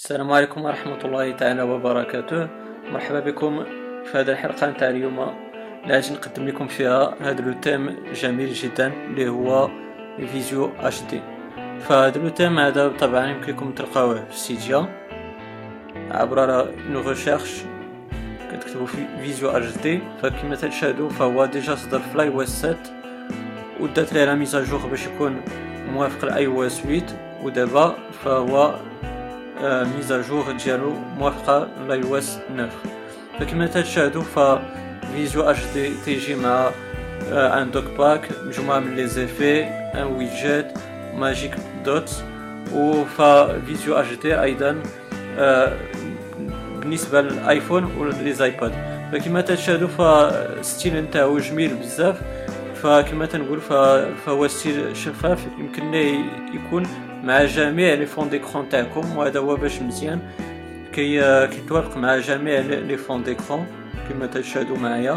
السلام عليكم ورحمة الله تعالى وبركاته. مرحبا بكم في هذه الحلقة نتاع اليوم اللي غادي نقدم لكم فيها هذا لو تيم جميل جدا اللي هو فيزيو اش دي. فهذا لو تيم هذا طبعا يمكنكم تلقاوه في سيديا عبر نو ريشيرش، كتكتبوا في فيزيو اش دي. فكما تشاهدوا فهو ديجا صدر في الاي او اس 7 ودات ليه لا ميزاجور باش يكون موافق لاي او اس 8، ودابا فهو ميزاجور ديالو موافقه لاي او اس 9. فكما تشاهدوا ففيزيو اش دي تيجي مع ان دوك باك، مجموعه من لي زيفي، ان ويدجيت، ماجيك دوتس. وفيزيو اش دي ايضا بالنسبه للايفون وليزايباد. فكما تشاهدوا فالستيل نتاعو جميل بزاف. فكما تنقول فهو ستيل شفاف، يمكن ليه يكون مع جميع لي فون ديكرون تاعكم، وهذا هو باش مزيان كيتوافق مع جميع لي فون ديكرون كما تشاهدوا معايا.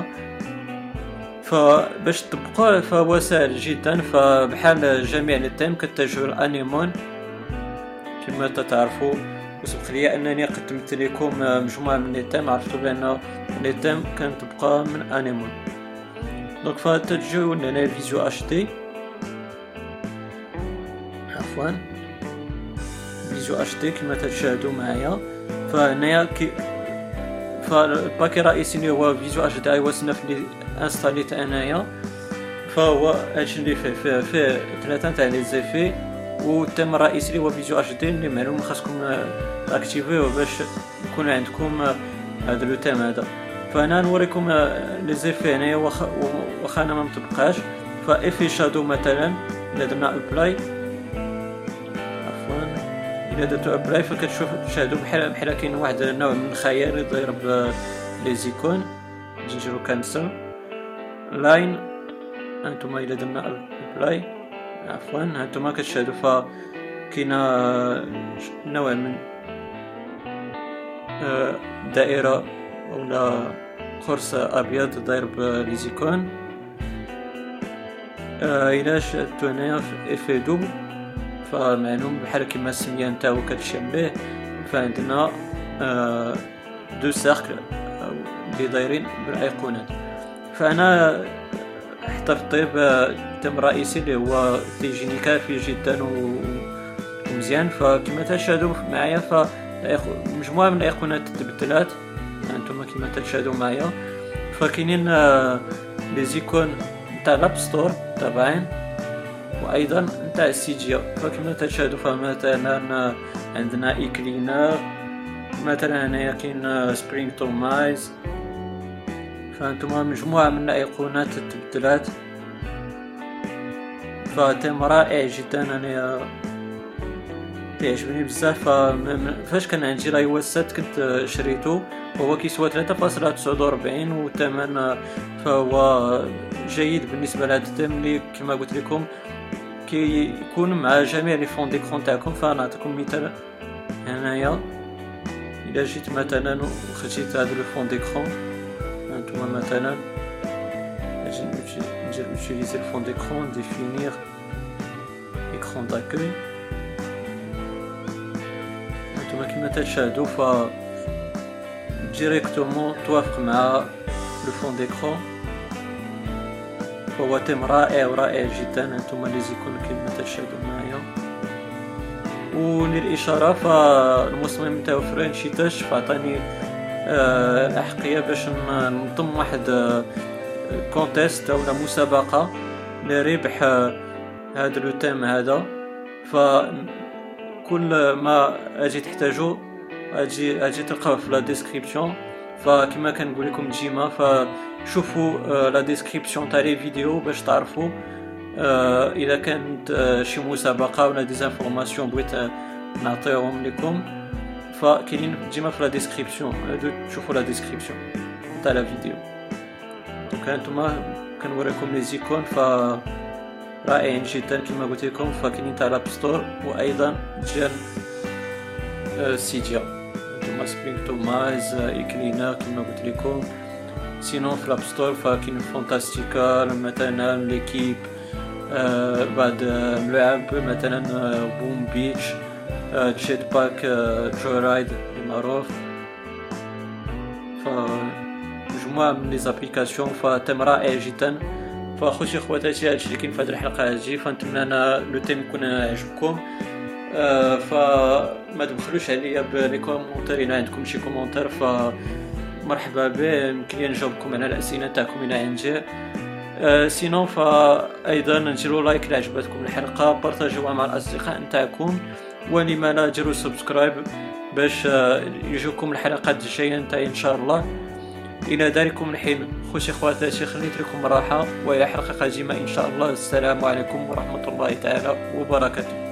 فباش تطبقوه فهو سهل جدا، فبحال جميع لي تيم كتجهوا الانيمون كما تعرفوا. وسبق لي انني قدمت لكم مجموعه من لي تيم، عرفتوا بان لي تيم كنطبقوها من انيمون. دونك فتجيو لنا فيزيو اش دي، عفوا فيزيو اش دي كما تشاهدوا معايا. فهنايا فالباكي الرئيسي اللي هو فيزيو اش دي اي او اس 9 اللي انستاليت انايا، فهو هادشي اللي فيه ثلاثه تاع لي زيفي. والتيم الرئيسي اللي هو فيزيو اش دي اللي معلوم خاصكم اكتيفيوه باش يكون عندكم هذا لو تيم هذا. فانا نوريكم لي زيفي هنايا واخا انا ما مطبقاش. فافي شادو مثلا الا درنا ابلاي، الا درتو ابلاي فكتشوف تشاهدوا بحال كاين واحد النوع من الخيال يضرب لي زيكون. نديرو كانسل لاين. هانتوما الا درنا ابلاي، عفوا هانتوما كتشاهدوا فكاينه نوع من دائره ولا قرص ابيض ضارب لي زيكون. الا شدتو هنايا في افي دوبل فمعلوم بحال كيما السميه نتاعو كتشم به. فعندنا دو سيركل اللي دايرين بالايقونات. فانا احتفظت بالتيم الرئيسي اللي هو تيجيني كافي جدا ومزيان. فكما تشاهدوا معايا فمجموعه من الايقونات تبدلات، انتم كما تشاهدوا معايا. فكاينين لي زيكون نتاع الاب ستور طبعا، وايضا نتاع السيديا. فكما تشاهدوا فمثلا عندنا اي كلينر، مثلا هنايا كاين سبرينغ تومايز. فانتم مجموعه من الايقونات تبدلات. فتيم رائع جدا، انا تعجبني بزاف. فاش كان عندي لاي او اس 7 كنت شريته، وهو كيسوى 3.49 والثمن فهو جيد بالنسبه لهذا التيم اللي كما قلت لكم كيكون مع جميع لي فون ديكرون تاعكم. فنعطيكم مثال هنايا، الا جيت مثلا وخديت هذا لو فون ديكرون، هانتوما مثلا ندير utiliser le fond d'écran, définir écran d'accueil. هانتوما كما تشاهدوا ف ديريكتومون توافق مع لو فون ديكرون. فهو تيم رائع جدا. هانتوما لي زيكون كما تشاهدوا معايا. وللاشاره فالمصمم نتاعو فرنشي تاش، فعطاني الاحقيه باش ننظم واحد كونتيست ولا مسابقه لربح هذا لو تيم هذا. فكل ما اجي تحتاجو اجي تلقاوه في لا ديسكريبسيون. فكما كنقول لكم ديما فشوفوا لا ديسكريبسيون تاع لي فيديو باش تعرفوا اذا كانت شي مسابقه ولا ديزانفورماسيون بغيت نعطيهم لكم. فكاينين ديما في لا ديسكريبسيون، تشوفوا لا ديسكريبسيون تاع لا فيديو. دونك هانتوما كنوريكم لي زيكون رائعين جدا كما قلت لكم. فكاينين تاع الاب ستور وايضا ديال سيديا. هانتوما سبرينغ تومايز، ايكلينر كما قلت لكم. سينون في الاب ستور فكاين فانتاستيكال مثلا ليكيب، بعد ملعب مثلا بوم بيتش، جيت باك جو رايد معروف، فمجموعة من لي زابليكاسيون، فتم رائع جدا. فاخوتي خواتاتي هادشي اللي كاين في هذه الحلقه هادي، فنتمنى انا لو تيم يكون عجبكم. فما تبخلوش عليا بلي كومونتير، الا عندكم شي كومونتير فمرحبا به، يمكن لي نجاوبكم على الاسئله تاعكم الى عندي. سينو فايضا نديروا لايك الا عجبتكم الحلقه، بارطاجيوها مع الاصدقاء نتاعكم، ولما لا ديروا سبسكرايب باش يجوكم الحلقات الجايه نتاعي ان شاء الله. الى ذلكم الحين خوتي خواتاتي، خليت لكم راحه، والى حلقه قادمه ان شاء الله. السلام عليكم ورحمه الله تعالى وبركاته.